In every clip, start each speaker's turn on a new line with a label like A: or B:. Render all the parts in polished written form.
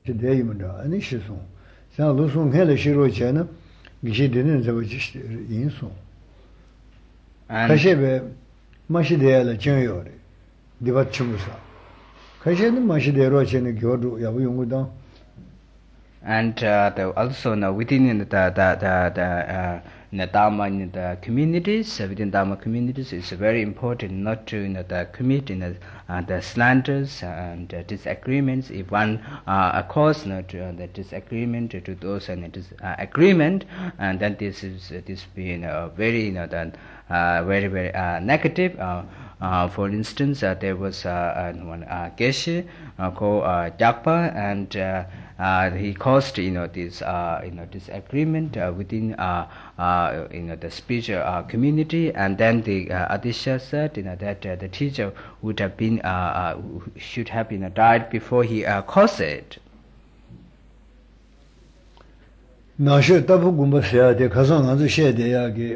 A: 대임은다 아니 시송 자 로송 해를 시로 전에 기시 되는 저 인송 가시베 마시데야라 전요래 디바치무사 가시는 마시데로 전에 교도 야부 용구다
B: and also now within the Dharma in the communities, within Dharma communities, it's very important not to commit the slanders and disagreements. If one cause the disagreement to those and agreement, and then this being very very negative. For instance, there was one Geshe called Jakpa, and he caused this disagreement within the spiritual community, and then the Adisha said that the teacher would have been should have been died before he caused it.
A: 나셔 따부 공부해야 돼. 가서 가서 해야 돼야게.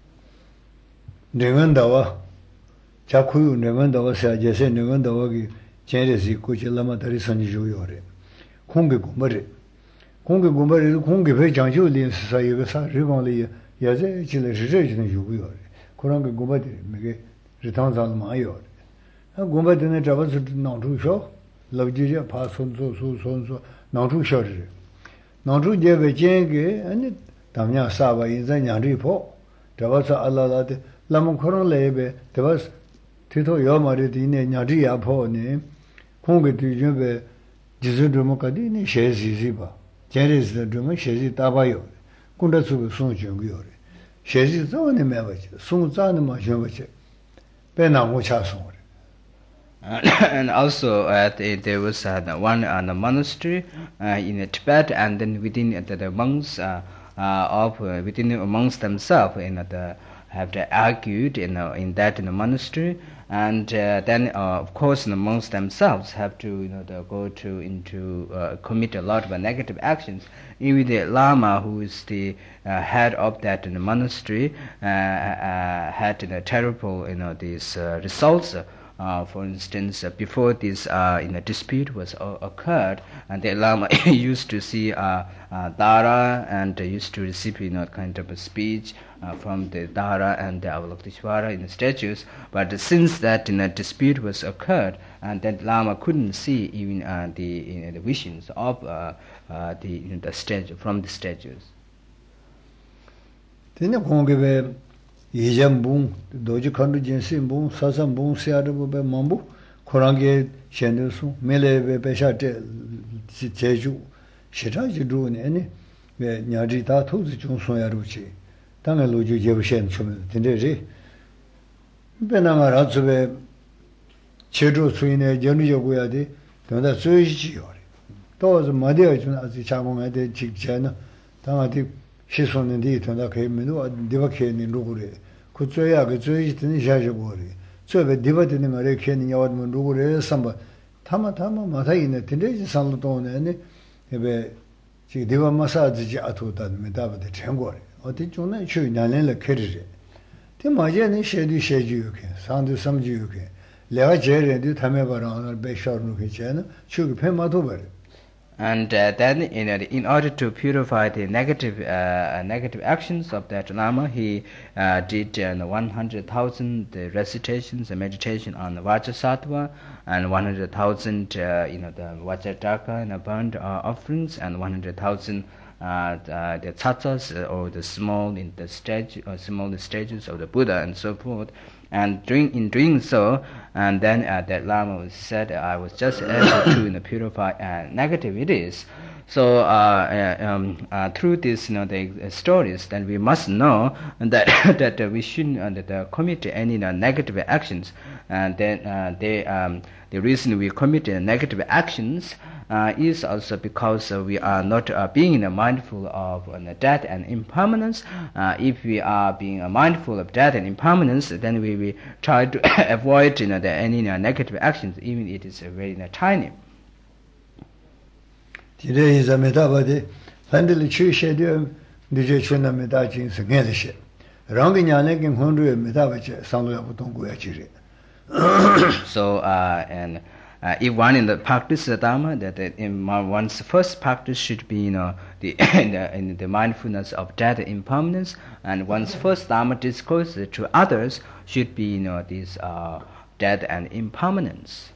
A: 내건다와 자쿠유 내건다와 사제세 내건다와기 제레시 고질라마다리 선지조요래. 공개 공부를 공개 배 장조리 사이가 사 리방리 야제 질레 지제지는 요구요래. 그런 거 공부들 이게 리탄자마요. 공부들은 잡아서 나주셔. 러지제 파손소 나주셔지. 나주 제베 제게 아니 담냐 사바 인자 냐리포. 잡아서 알라라데 라몬 코론 레베 잡아서 티토 요마리디네 냐리야포네. 공개 뒤집에 지즈드모까지는 셰지지바 제레스드면 셰지 따바요 군다수가 송정고요 셰지 저는 매버지 송자는 마셔버지 배나고 차송
B: and also there was one monastery in Tibet, and then within the monks within amongst themselves have argued in that monastery, and then of course amongst themselves have to go into commit a lot of negative actions. Even the Lama, who is the head of that monastery, had terrible these results. For instance, before this dispute was occurred, and the Lama used to see Dara and used to receive kind of a speech from the Dara and the Avalokiteshvara in the statues. But since that dispute was occurred, and that Lama couldn't see even the visions of the statue from the statues.
A: 이점봉 도지 컨도 진심봉 사삼봉 세아르보베 mambu 코랑게 셴데수 멜레베 베샤테 제주 시라지도네 아니 왜 냐지다 토지 중소야루치 당에 로주 제부셴 좀 된데지 베나마라츠베 제주 수인의 전유여고야디 donda suijiyo toz madeo 좀 아주 자몽에 직전에 당아디 시선인데 donda 개미도 디바케니 누구래 그저야 그 저이든 샤셔고리 저베 디바드는 말에 괜히 야wad면 누구래 삼바 타마 마사이네 딘데지 산로도네 에베 지 디바 마사지지 아토다는 메다바데 전고래 어디 좀에 추이 날래래 캐리제 데 마제는 셰지요케 산도 삼지요케 내가 제레디 타메바랑 베샤르누케 제는 추기 페마도베.
B: And then in order to purify the negative actions of that Lama, he did 100,000 recitations and meditation on the Vajrasattva, and 100,000 the Vajradhaka and burnt offerings, and 100,000 the tattas or the small stages of the Buddha and so forth. And in doing so, and then that Lama said, I was just able to purify negativities. So through this, the stories, then we must know that we shouldn't commit any negative actions. And then the reason we commit negative actions is also because we are not being mindful of death and impermanence. If we are being mindful of death and impermanence, then we try to avoid any negative actions, even it is very tiny.
A: Today is a metabody. Handle Chisha, DJ Chuna Medajin, Sangelisha. Ranginyanekin Hundu Metabache, Sanlo Putongu.
B: So, and if one in the practice the Dharma, that in one's first practice should be the in the mindfulness of death and impermanence, and one's first Dharma discourse to others should be this death and impermanence.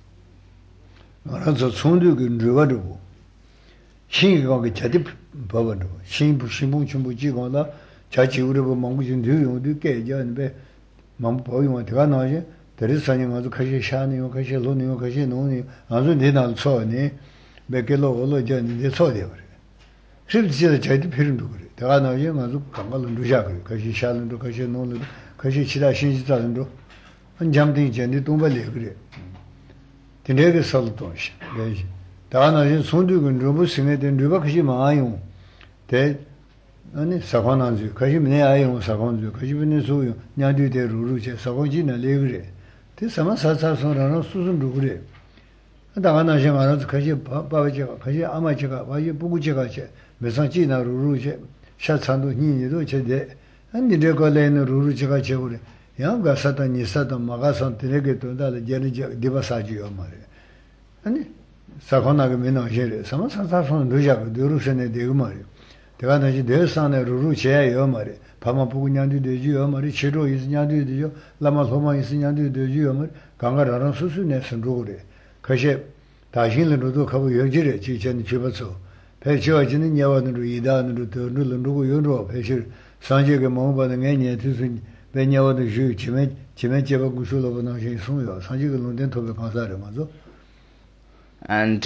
A: There is something on the Kashani, Kashaloni, Kashinoni, and then I'll saw any Bekelo, the Sodi. She see the Chadi Pirindu, the Rana Yamazu, Kamal and Rujak, Kashi Shalan, Kashin, Kashi Chida Shinjitando, and jumped in Jenny Tumbali. The nigger Saltosh. The Rana Sundu and Rubu sing it in Rubakashima Ayon. They Sakonanzu, Kashimine Ayon, Sakonzu, Kashimine Suyo, Nadu de Ruruche, Sakojina Legre. This summer Sasa Sonano Susan Rugre. And the Anajama Kashi Babaja, Kashi Amachaka, Vayu Buguchaka, Mesanchina Ruruche, Shatsando Nini Ruche de, and the Decolen Ruruchaka Chure. Yanga Satan Satan Magasan Tenegato, the Jenija Divasaji Omare. And Sakonagamino Jere, some Sasa from Rujak, Durusene de Umari. The Anaji de San Ruruche Omare. Pamapu Nyandu de Giomari, Chiro is Nyandu de Jo, Lama Homa is Nyandu de Giomar, Gangara Susunes and Rode, Kashe, Tajin and Rudo Kabu Yojire, Chichen Chibaso, Pecho, Yavan, Ruidan, Rutu, and Rugu Yoro, Pesher, Sanjay Momba, and Anya, Tusin, Benyawa de Ju, Chimecheva Gushula, and Suyo, Sanjay Lundento, the Consaramazo.
B: And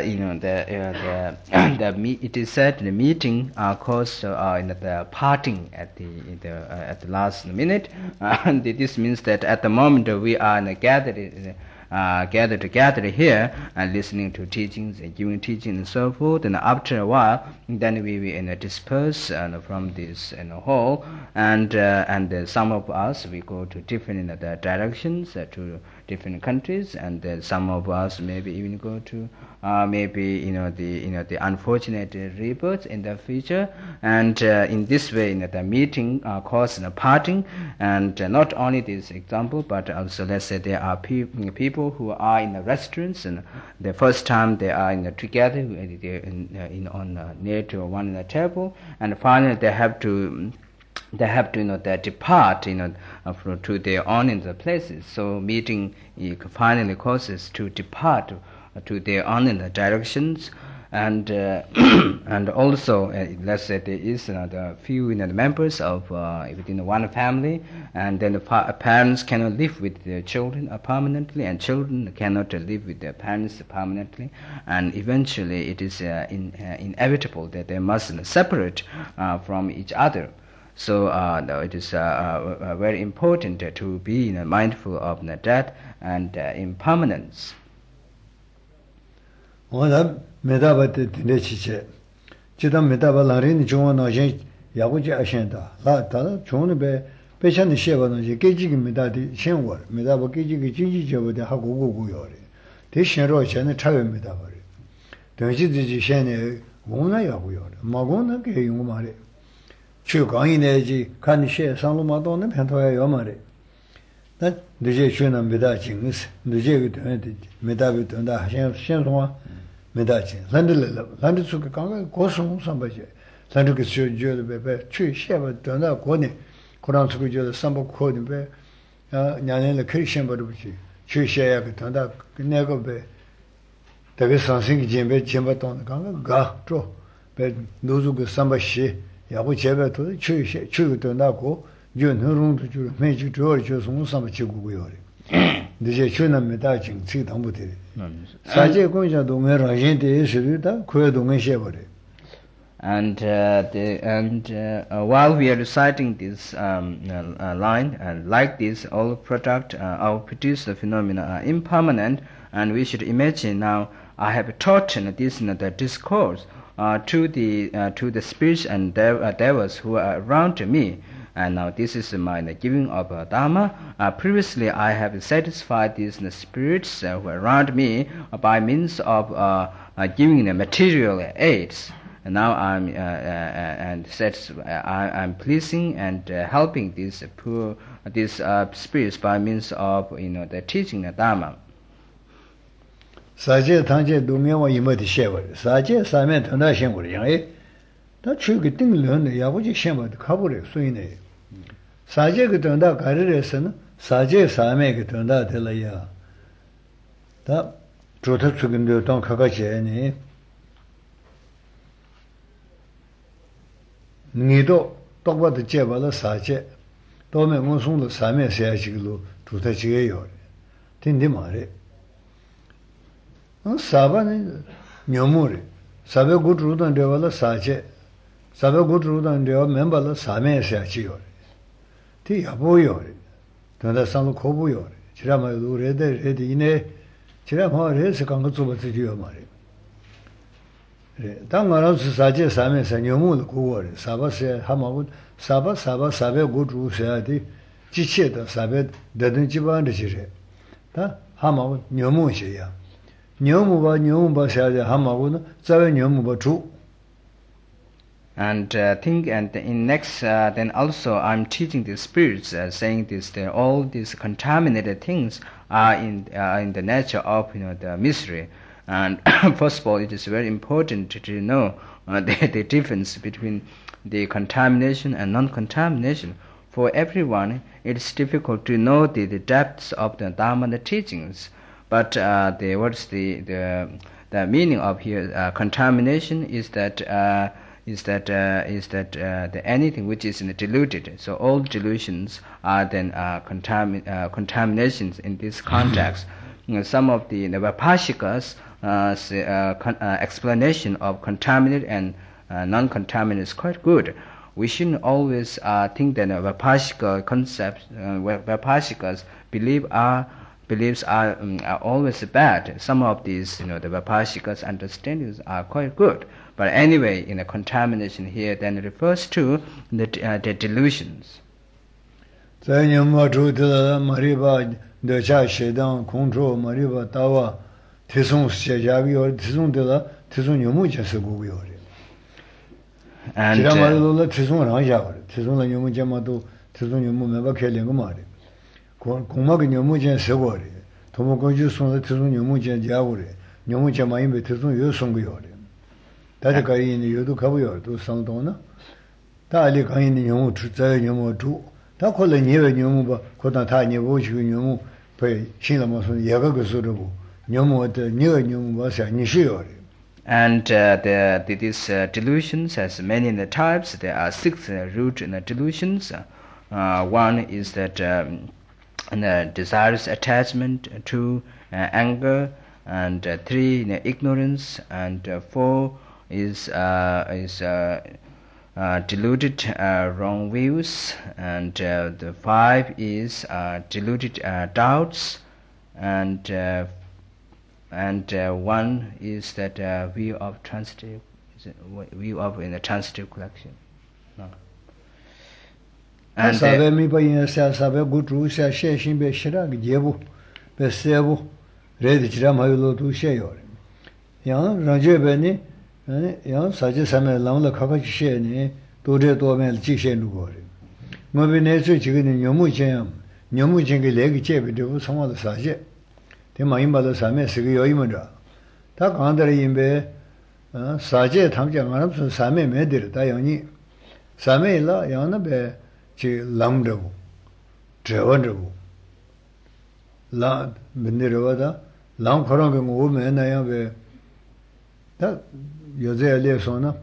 B: it is said the meeting caused in the parting at the last minute, and this means that at the moment we are gathered together here and listening to teachings and giving teaching and so forth, and after a while then we will disperse from this hall, and some of us we go to different directions to different countries, and some of us maybe even go to the unfortunate rebirths in the future, and in this way the meeting caused a parting, and not only this example, but also let's say there are people who are in the restaurants, and the first time they are together near to one in the table, and finally they have to they depart to their own places. So meeting finally causes to depart to their own directions, and and also let's say there is the few members of within one family, and then the parents cannot live with their children permanently, and children cannot live with their parents permanently, and eventually it is inevitable that they must separate from each other. So it is very important to be mindful of death and impermanence.
A: Oda medabate tinechiche. Chidam medabaların çoğuna şey yaguca aşenda. La ta çoğunu be peşani şevanı je gecigi medadi şen var. Medaba gecigi cinci cevde ha gogo yore. De şenro şene çave medabari. Dönüşü dici şene ona yaguyor. Magona ke yumare. Chugan이네지 간시에 상로마도는 편토야 요마래. 나 늦게 주는 메다징스 늦게 되는데 메다비 된다 현송아 메다징 란들 수가 강가 고송 삼바지 란들게 주저도 베베 취셰바 된다 고니 고란 수가 저 삼보 코드베 냐네를 크리션 버르지 취셰야 된다 내가 베 되게 상승이 점베 점바던 강가 가줘베 노주그 삼바시 야고 제베도 추유도 나고 윤흥롱도 주 매주 저저 송삼 지구고요. 이제 추남에다 지금 당부들. 사제 공자도 메라진데 있으리다 고여동에 셔버려.
B: And while we are reciting this line, and like this, all produced phenomena are impermanent, and we should imagine now I have taught this the discourse to the spirits and devas who are around me, and now this is my giving of Dharma. Previously I have satisfied these spirits who are around me by means of giving the material aids, and now I'm pleasing and helping these spirits by means of the teaching the Dharma.
A: 사제 당제 동명와 이모디 셰버 사제 사면 전화 신고를 양에 다 추기 띵르는 야부지 셰버 가버려 소이네 사제 그 전화 가르래서는 사제 사면 그 전화 될라야 다 조터 추긴도 동 가가지니 니도 똑바도 제발로 사제 도면 무슨도 사면 세야지로 조터지게요 딘디 말해 사바는 녀무리 사베 구르던 데발로 사제 사베 구르던 데 멤버로 사면 세야지요 티 야보요 donde sanno kobuyo chirama rede rede ine chirama rese kango tsuba tsiyo mare 당가는 사제 사면서 너무 고거래 사바세 하마고 사베 고주셔야지 지체다 사베 되는 집안에 지래 다 하마고 너무셔야 너무 봐셔야지 하마고는 자외 너무 봐주
B: And think and in next then also I'm teaching the spirits saying this that all these contaminated things are in the nature of the misery. And first of all, it is very important to know the difference between the contamination and non-contamination. For everyone, it is difficult to know the depths of the Dharma and the teachings. But what's the meaning of here? Contamination is that anything which is diluted. So all delusions are then contaminations in this context. Some of the Vipashikas explanation of contaminated and non-contaminated is quite good. We shouldn't always think that Vipashika concepts, Vipashikas beliefs are always bad. Some of these, the Vipashikas' understandings are quite good. But anyway, in the contamination here, then it refers to the delusions.
A: 다들 가인이 요도 가고요. 또 상도나. 다리 가인이 영어 주자의 영어 주. 다 콜레 니에 영어 봐. 고다 다 니고 지고 영어 배 신라 무슨 예가 그서로 영어의 니어 영어 봐서 니시요.
B: And these delusions has many in the types. There are 6 root in the delusions. One is that the desirous attachment, 2 anger, and 3 ignorance, and 4 is deluded wrong views, and the 5 is deluded doubts, and 1 is that view of transitive, view of in the transitive collection. No.
A: And sabe mi pa yin sa sabe gutru sa she shin be shira gebu be sebu red jira maylo tu she yor yang ranje be ni yang saje same lang la kha kha she ni do de do men ji she lu go mo be ne su ji ge ni nyomu chen ge le ge che be de bu song wa de sa je de ma yin ba de sa me se ge yo yi mo da ta gang de yin be sa je tham je ma su sa me me de da yang ni sa me la yang na be 지 람르고 저원르고 라 민들어다 람 그런 거 오면 나야 왜다 요새 알려서나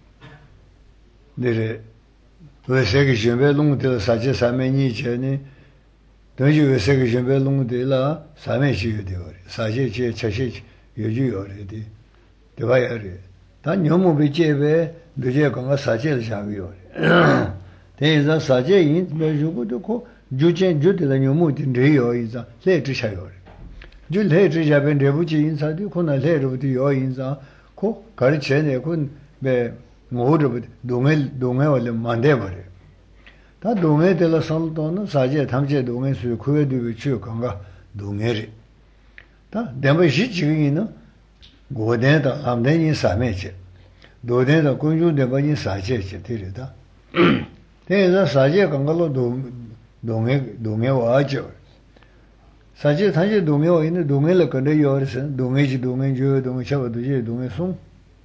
A: 내래 왜 세계 준비 농들 사제 사면이 전에 도저히 왜 세계 준비 농들라 사면시요 되어 사제 제 자식 요주요래디 되어야래 다 너무 비제베 늦게 건가 사제를 잡이요 대해서 사제인 매주고도 고 주제 주들의 묘무든 레요이자 레트샤요 줄레트샤벤 레부지 인사도 코나 레르부도 요인자 고 가르쳐내 군매 모르부 동해 원래 만대버려 다 동해들 살도는 사제 탐제 동해 수 구에도 주 건가 동해리 다 내가 시지기는 고대다 암대인 사매지 도대다 군주대 번이 사제지 되리다 대해서 사제 건가로 동해 와죠. 사실 단지 동해와 있는 동해를 건데 요르서 동해지 동해 주 동해 차바도지 동해 송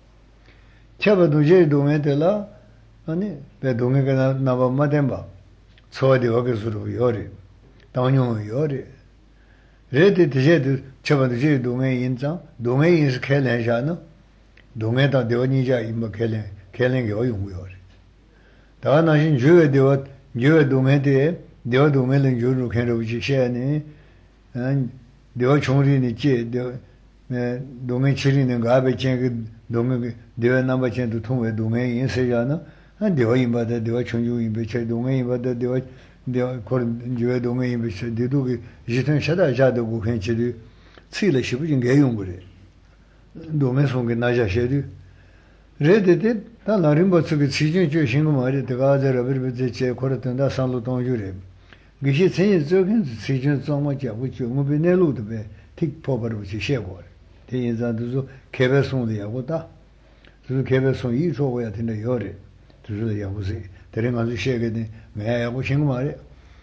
A: 차바도지 동해들라 아니 배 동해가 나봐 마덴바 소디 와게스로 요리 당뇨 요리 레디 디제드 차바도지 동해 인자 동해 인스 켈레샤노 동해다 되어니자 임마 켈레게 어용고요리 다나신 주에 되어 주에 동해대 되어 동해는 주로 켈로지 셰네 dewa chungri ni che dongay chiri ni gabe chen dongay dewa namba chen tu thungwe dongay yin se ya na dewa yinba da dewa chungju yinba che dongay yinba da dewa kor juwe dongay yinba che dedu ki jitun shada jada gu khen che du tsi la shibu jing ge yung gure dongay songe na ja she du re de de ta la rimba tsuki tsi jing ju shingu ma re de ga za ra bir be che kor tan da san lu tong ju re 기시 전에 저긴 시즌 정말 자고 좀 내로도 배 틱포버로 시셰고 대인자도 개별성도 하고다 그 개별성 이 좋아야 된다 요래 그래서 야고세 대령 아주 시에게 매하고 신고 말이야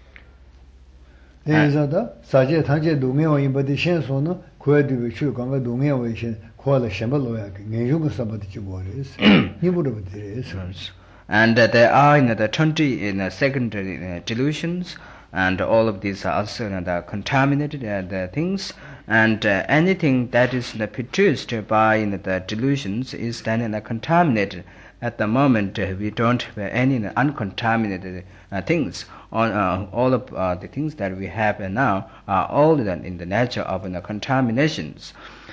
A: 대인자다 사제 단제 동해와 인바디 신소는 고야디비 출강과 동해와 신 고알의 셴벌로야 내용을 sabati 뭐래서 니부로 들으서
B: and there are the 20 secondary delusions. And all of these are also the contaminated the things, and anything that is produced by the delusions is then contaminated. At the moment, we don't have any uncontaminated things. All of the things that we have now are all in the nature of contaminations.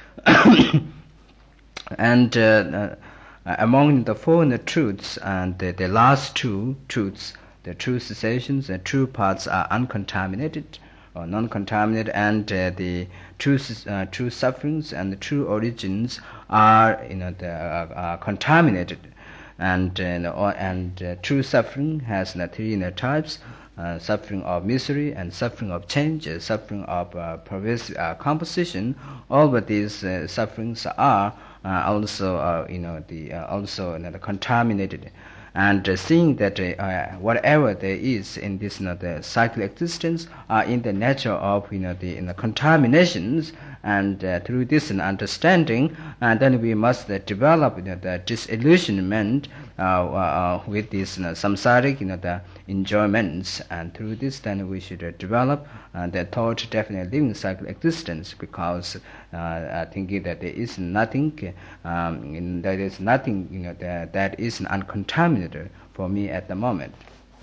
B: And among the four truths, and the last two truths, the true cessations and true parts are uncontaminated or non-contaminated, and the true sufferings and the true origins are contaminated. And true suffering has three types: suffering of misery and suffering of change, suffering of pervasive composition. All of these sufferings are also also contaminated. And seeing that whatever there is in this the cycle existence are in the nature of the contaminations, and through this understanding, and then we must develop the disillusionment with these samsaric the enjoyments, and through this then we should develop the thought definite living cycle existence, because thinking that there is nothing that is uncontaminated for me at the moment.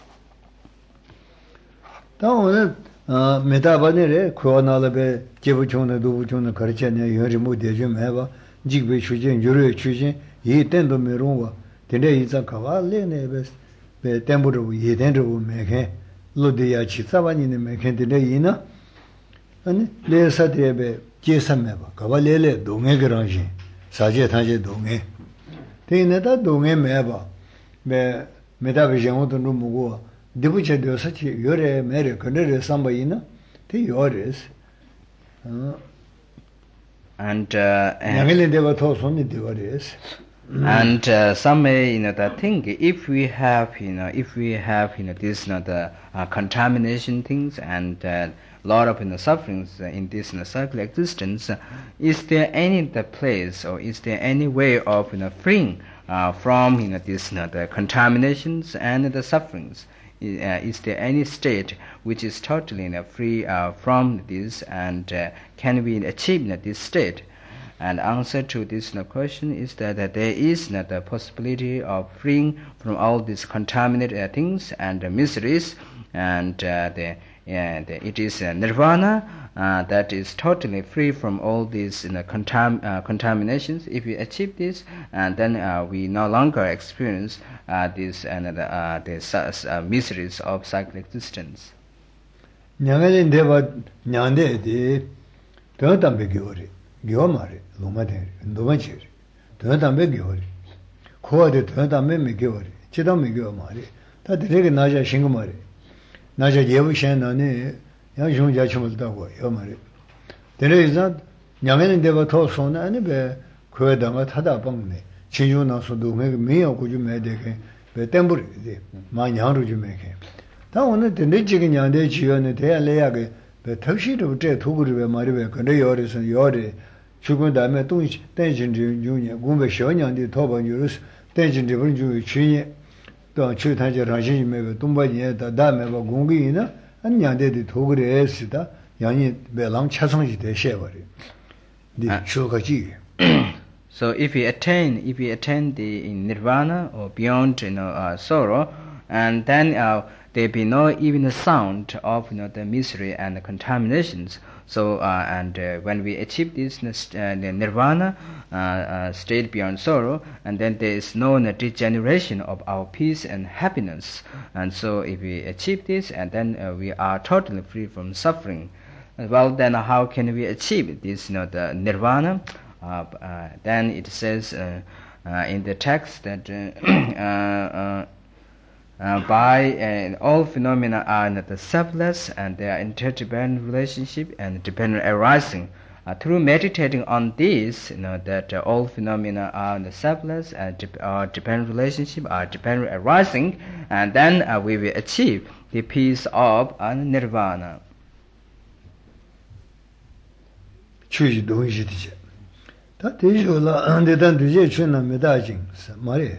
A: 메타바네레 코나라베 제부총의 도부총의 가르쳐내 여리 모델좀 해봐 직배 추진 요리 추진 이 땐도 메롱와 근데 이자 가발레네 베 템부로 예된도 메케 로디야 치사바니네 메케데 이나 아니 레사데베 제삼메바 가발레레 동해 그런지 사제 타제 동해 대내다 동해 메바 메 메타비정도 누무고 디부체 되어서치 요래 메레 그네레 삼바이나 티 요레스
B: and
A: 양일레 데바 토손이 디버레스
B: and some may that think if we have this the contamination things and lot of sufferings in this cycle existence, is there any place or is there any way of freeing from this the contaminations and the sufferings? Is there any state which is totally free from this, and can we achieve this state? And answer to this question is that there is the possibility of freeing from all these contaminated things and miseries, and it is nirvana that is totally free from all these contaminations. If we achieve this, and then we no longer experience these miseries of cycle existence.
A: 냥에 데바 냥데디 더담베 교리 교마리 로마데 노마치 더담베 교리 코아데 더담베 메교리 치담메 교마리 다 되게 나자 싱고마리 나자 예부셴나네 야 용자 춤을다고 요마리 데레자 냥에 데바 토소나 아니 베 코에다가 타다 방네 진주나서도 메요 고주 메데게 베 템부리 마냥로 주 메게 다 오늘 내 지금 냥데 지연에 대야래야게 배 턱시도 제 도구를 말이বে 근데 요리선 요리 죽은 다음에 또 땡진지 중에 공부 시원년이 도번유스 땡진지 번주 주에 또 주타지 라신이메 동바니에다 다음에 뭐 공기나 안냐데도 도구를 했다 양이 배랑 차성지 대셔버리 네 쇼가지
B: So if we attain the nirvana or beyond sorrow, and then there be no even the sound of the misery and the contaminations. So when we achieve this the nirvana state beyond sorrow, and then there is no degeneration of our peace and happiness. And so if we achieve this, and then we are totally free from suffering. Well, then how can we achieve this? The nirvana. Then it says in the text that by all phenomena are the selfless and they are interdependent relationship and dependent arising. Through meditating on this, that all phenomena are the selfless and dependent relationship are dependent arising, and then we will achieve the peace of nirvana.
A: 다 대조라 안데단 두제 춘나 메다징 말이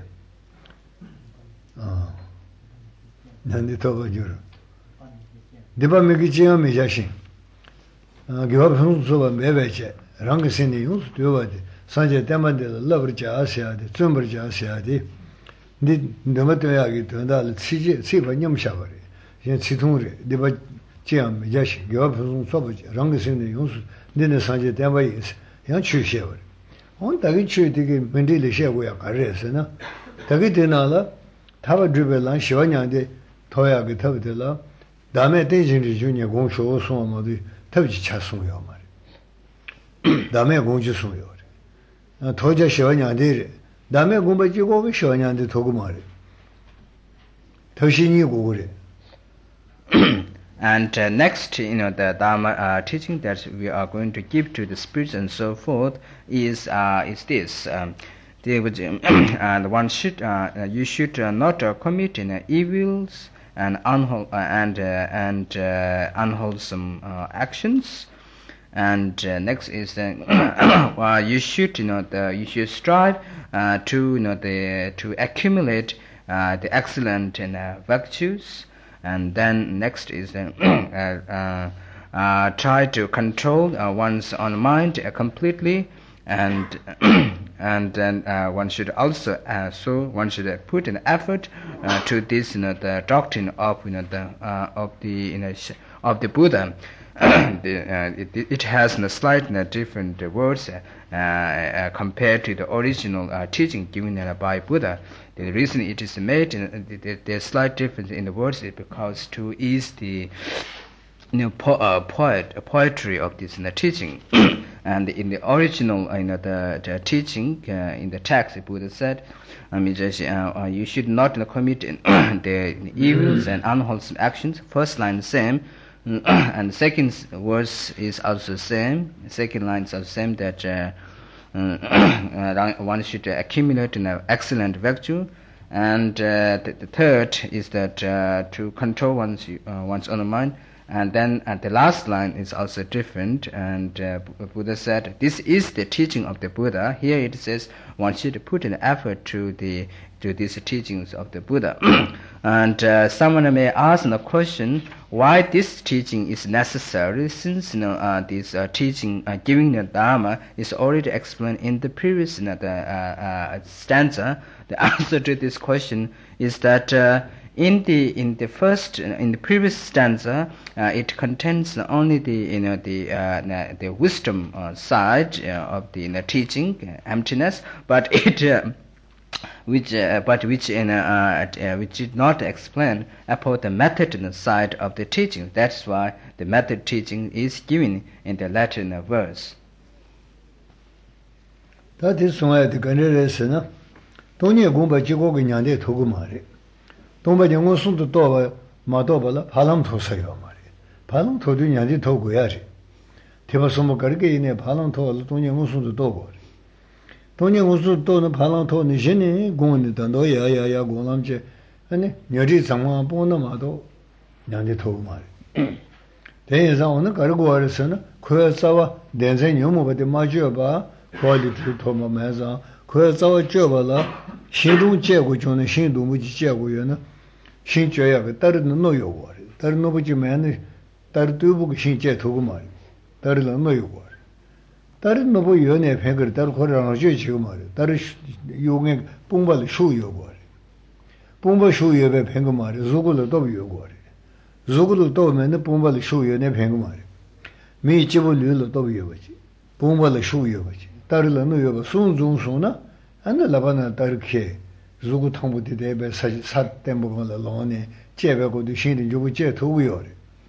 A: 난데 더버죠 디바메기 지야메 자신 기업 형수가 매배제 랑게신이 용수 되어야지 산제 때만데 러버지 아시아데 쯤버지 아시아데 니 너무도야기 된다를 치지 치번념 샤버리 이제 치통으로 디바 지야메 자신 기업 형수가 랑게신이 용수 니네 산제 때만에 양 취셔버리 on tagi chui tigi mendi le she go ya kare se na tagi dena la thaba dribe lan shiwa nya de thoya ge thab de la dame de jin ri ju ne gong sho so ma de thab ji cha so yo ma re dame gong ji so yo re thoja shiwa nya de dame gong ba ji go ge shiwa nya de thogu ma re thoshi ni go re.
B: And next, the Dharma teaching that we are going to give to the spirits and so forth is this: and one should you should not commit evils and unwholesome actions. And next is you should you should strive to accumulate the excellent virtues. And then next is try to control one's own mind completely, and then one should also one should put an effort to this the doctrine of of the Buddha. It has slightly different words compared to the original teaching given by Buddha. The reason it is made, there's slight difference in the words is because to ease the poetry of this teaching. And in the original the teaching in the text, the Buddha said, you should not commit the evils and unwholesome actions. First line the same. And the second verse is also the same. The second line is also the same, that one should accumulate an excellent virtue. And the third is that to control one's own mind. And then the last line is also different. And Buddha said, this is the teaching of the Buddha. Here it says one should put an effort to these teachings of the Buddha. And someone may ask the question, why this teaching is necessary, since this teaching giving the Dharma is already explained in the previous stanza. The answer to this question is that in the previous stanza, it contains only the wisdom side of the teaching, emptiness, but which did not explain about the method side of the teaching. That's why the method teaching is given in the Latin verse.
A: That is why the Ganera Tonya Gumba Jigo Nyande Togumari. Tomba Yangosun to Toba, Madobala, Palam to Sayomari. Palam to Dunyadi Toguyari. Tibasomo Gargi in a Palam to Tonya Musun to Togori. Tonya Musu to the Palam to Nijini, Gundi Dandoya, Gulamje, and Yari Sama Bonamado, Nyandi Togumari. 대해서는 가르고르서는 그에서와 dense 녀모버데 마주어봐 quality 토마면서 그에서 줘봐라 신동 제고 존의 신동무지 제고요는 신줘야 다른 노요고 다른 노부지면 다른 두부고 신제 두고 말 다른 노요고 다른 노부 연애 팽을 다른 거라는 저 지금 말 다른 용의 뽕발 수요고 뽕발 수요에 팽거 말 누구도 또 요고 누구도 또 맨날 뽕발 수요에 팽거 말 미 집을 일로 또 요거지 뽕발 수요거지 다른 노요고 순중소나 안나 라바나 다르게 누구 통보대 대배 사때 먹어라 로네 제배고도 신이 주고 제 도고요.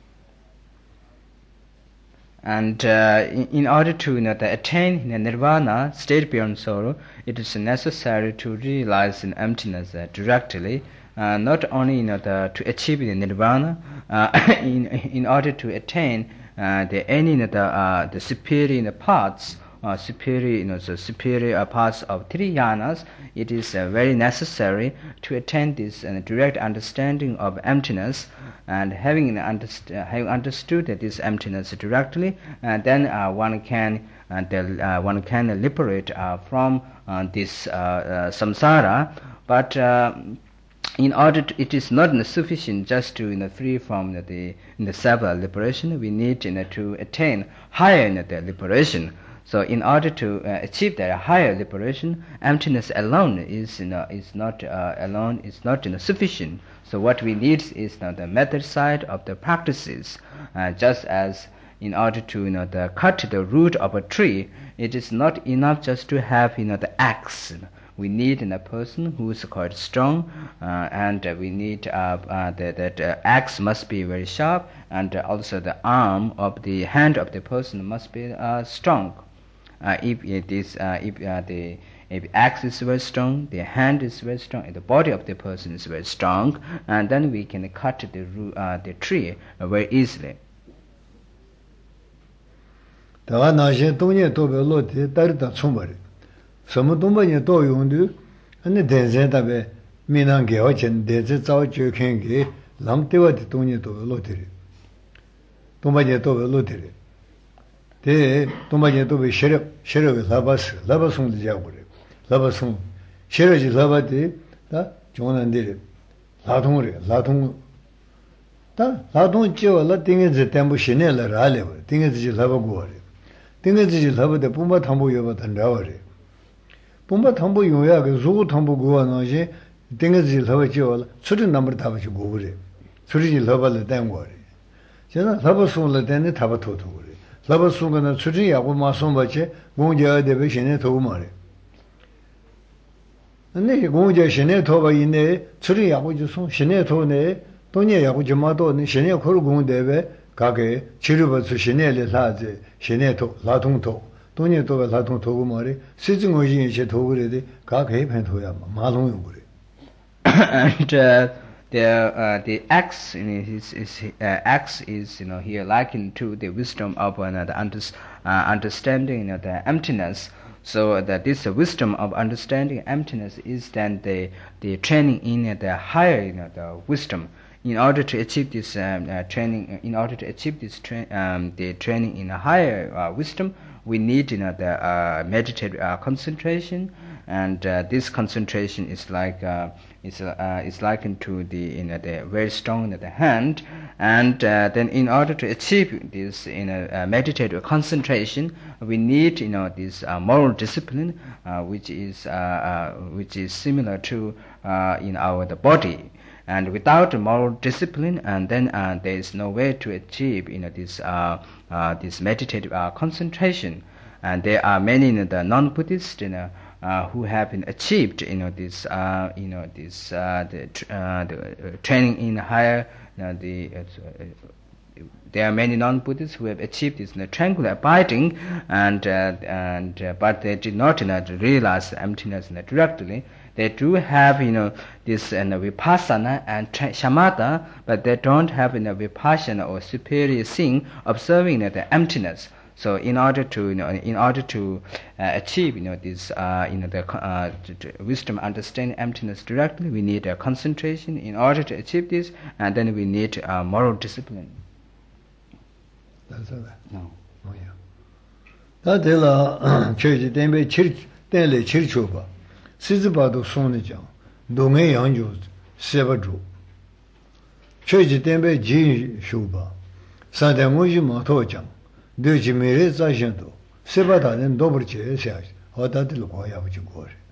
B: And in order to attain nirvana, state beyond sorrow, it is necessary to realize in emptiness directly, not only to achieve the nirvana, in order to attain the superior parts, superior parts of three yanas, it is very necessary to attain this direct understanding of emptiness. And having understood this emptiness directly, then one can liberate from this samsara. But in order to, it is not sufficient just to free from the self-liberation. We need to attain higher liberation. So in order to achieve that higher liberation, emptiness alone is not sufficient. So what we need is the method side of the practices. Just as in order to cut the root of a tree, it is not enough just to have the axe. We need a person who is quite strong, and we need that axe must be very sharp, and also the arm of the hand of the person must be strong. If axe is very strong, the hand is very strong, and the body of the person is very strong, and then we can cut the tree very easily.
A: 다가 나신 동네 도별로데 다르다 총벌이什么东北人都用的那电线大呗闽南给我钱电子早就看给让对我的东西都落地了东北人都落地了대 동바제 도베 셔럽에 라바송도 자고래 라바송 셔럽이 라바데 다 종원한데 라동 지어라 띵에지 템부 신내라 라레 띵에지 라바고래 띵에지 라바데 뿜바 탐보 여바 단다워래 뿜바 탐보 요야 그 조고 탐보 고와나지 띵에지 라바 지어라 수리 넘버 타바지 고그래 수리 라바를 땡고래 제가 라바송을 땡네 타바 토토고래 라바송은 수리하고 마송바체 공제에 대해 신내 도고 말해 근데 공제 신내 도바 있네 수리하고 주송 신내 도네 돈이하고 주마도 신내 거로 공대에 가게 치료받을 신내를 사제 신내 도 라통도 돈이 도가 라통 도고 말해 시중 의진이 제 도그래데 가게 펜토야 마롱용 그래
B: and the axe axe is here likened to the wisdom of the understanding the emptiness. So that this wisdom of understanding emptiness is then the training in the higher the wisdom. In order to achieve this training, the training in a higher wisdom, we need the meditative concentration, and this concentration is like is likened to the the very strong the hand, and then in order to achieve this meditative concentration, we need this moral discipline, which is similar to in our the body. And without moral discipline, and then there is no way to achieve this meditative concentration. And there are many the non-Buddhists who have been achieved this the training in higher there are many non-Buddhists who have achieved this tranquil abiding, but they did not realize the emptiness directly. They do have this vipassana and shamatha, but they don't have vipassana or superior seeing, observing the emptiness. So in order to achieve this the wisdom, understanding emptiness directly, we need a concentration. In order to achieve this, and then we need moral discipline. No.
A: 다들라 저기 댐베 댐레 칠초바 시즈바도 손이죠 동해 양주 세바주 저기 댐베 지 쇼바 사대모지 모토장 되지 메레 자신도 세바다는 도버체 해야지 어다들 거야 보지 거래